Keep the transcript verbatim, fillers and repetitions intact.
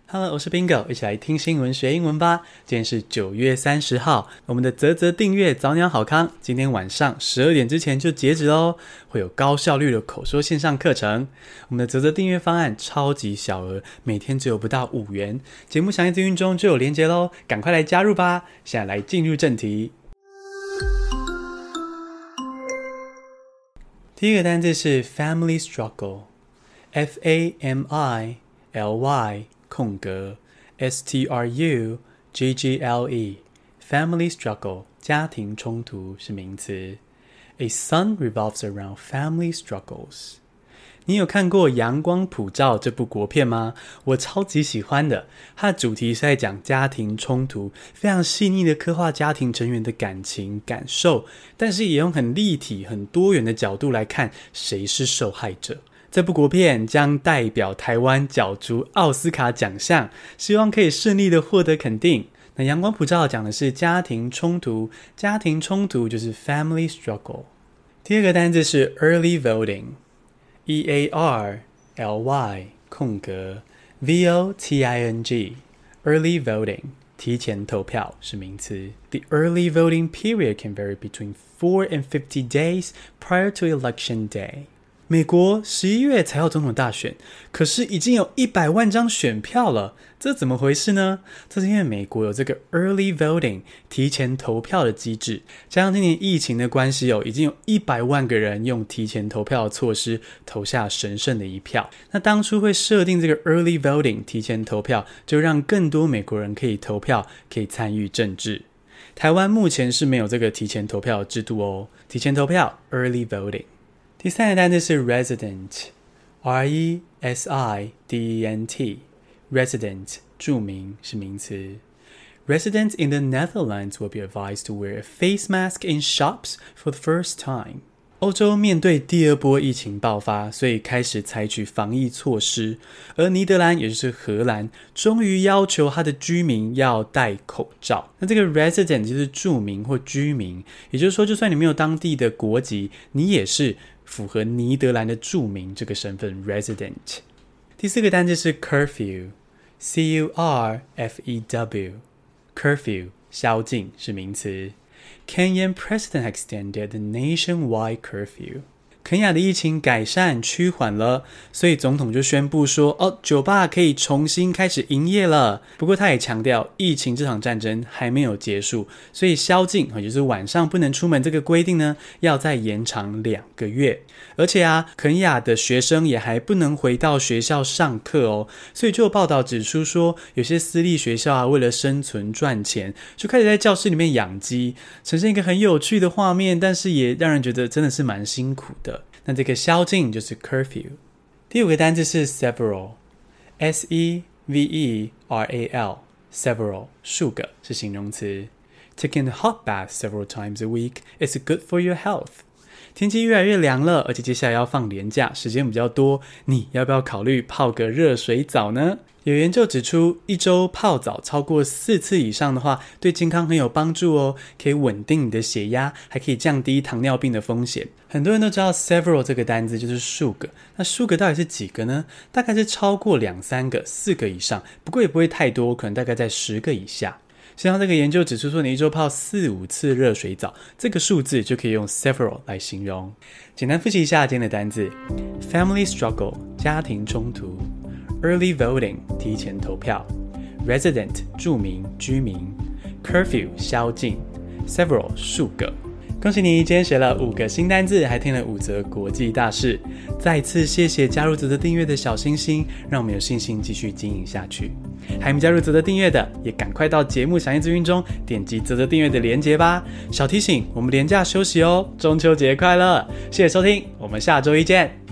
Hello， 我是 Bingo， 一起來聽新聞學英文吧。今天是九月三十號，我們的嘖嘖訂閱早鳥好康，今天晚上十二點之前就截止咯，會有高效率的口說線上課程。我們的嘖嘖訂閱方案超級小額，每天只有不到五元。節目詳細資訊中就有連結咯，趕快來加入吧。現在來進入正題。第一個單字是 family struggle，F A M I L Y 空格 S T R U G G L E Family struggle 家庭衝突是名詞。A son revolves around family struggles。 你有看過《陽光普照》這部國片嗎？我超級喜歡的，它的主題是在講家庭衝突，非常細膩的刻畫家庭成員的感情感受，但是也用很立體很多元的角度來看誰是受害者。這部國片將代表台灣角逐奧斯卡獎項，希望可以順利的獲得肯定。那陽光普照講的是家庭衝突，家庭衝突就是 family struggle。 第二個單字是 early voting， E A R L Y 空格 V O T I N G Early voting 提前投票是名詞。 The early voting period can vary between four and fifty days prior to election day。美國十一月才要總統大選，可是已經有一百萬張選票了，這怎麼回事呢？這是因為美國有這個 early voting 提前投票的機制，加上今年疫情的關係，已經有一百萬個人用提前投票的措施投下神聖的一票。那當初會設定這個 early voting 提前投票，就讓更多美國人可以投票，可以參與政治。台灣目前是沒有這個提前投票的制度哦。提前投票 early voting。第三個單字是 resident， R E S I D E N T Resident 住民是名詞。 Residents in the Netherlands will be advised to wear a face mask in shops for the first time。 歐洲面對第二波疫情爆發，所以開始採取防疫措施，而尼德蘭也就是荷蘭終於要求他的居民要戴口罩。那這個 resident 就是住民或居民，也就是說就算你沒有當地的國籍，你也是符合尼德蘭的住民這個身份 resident。 第四個單字是 curfew， C U R F E W Curfew 宵禁是名詞。 Kenyan president extended the nationwide curfew。 肯亞的疫情改善趨緩了，所以總統就宣布說哦，酒吧可以重新開始營業了。不過他也強調疫情這場戰爭還沒有結束，所以宵禁也就是晚上不能出門這個規定呢，要再延長兩個月。而且啊，肯亞的學生也還不能回到學校上課哦。所以就有報道指出說，有些私立學校啊，為了生存賺錢，就開始在教室裡面養雞，呈現一個很有趣的畫面，但是也讓人覺得真的是蠻辛苦的。那這個宵禁就是 curfew。 第五個單字是 several， S E V E R A L Several 數個是形容詞。 Taking a hot bath several times a week is good for your health。 天氣越來越涼了，而且接下來要放連假，時間比較多，你要不要考慮泡個熱水澡呢？有研究指出，一周泡澡超過四次以上的話，對健康很有幫助哦，可以穩定你的血壓，還可以降低糖尿病的風險。很多人都知道 several 這個單字就是數個，那數個到底是幾個呢？大概是超過兩三個、四個以上，不過也不會太多，可能大概在十個以下。像這個研究指出說，你一周泡四五次熱水澡，這個數字就可以用 several 來形容。簡單複習一下今天的單字 ：family struggle 家庭衝突。Early voting 提前投票， Resident 住民居民， Curfew 宵禁， Several 數個。恭喜你今天學了五個新單字，還聽了五則國際大事。再次謝謝加入嘖嘖訂閱的小星星，讓我們有信心繼續經營下去。還沒加入嘖嘖訂閱的，也趕快到節目詳細資訊中點擊嘖嘖訂閱的連結吧。小提醒，我們連假休息哦，中秋節快樂！謝謝收聽，我們下周一見。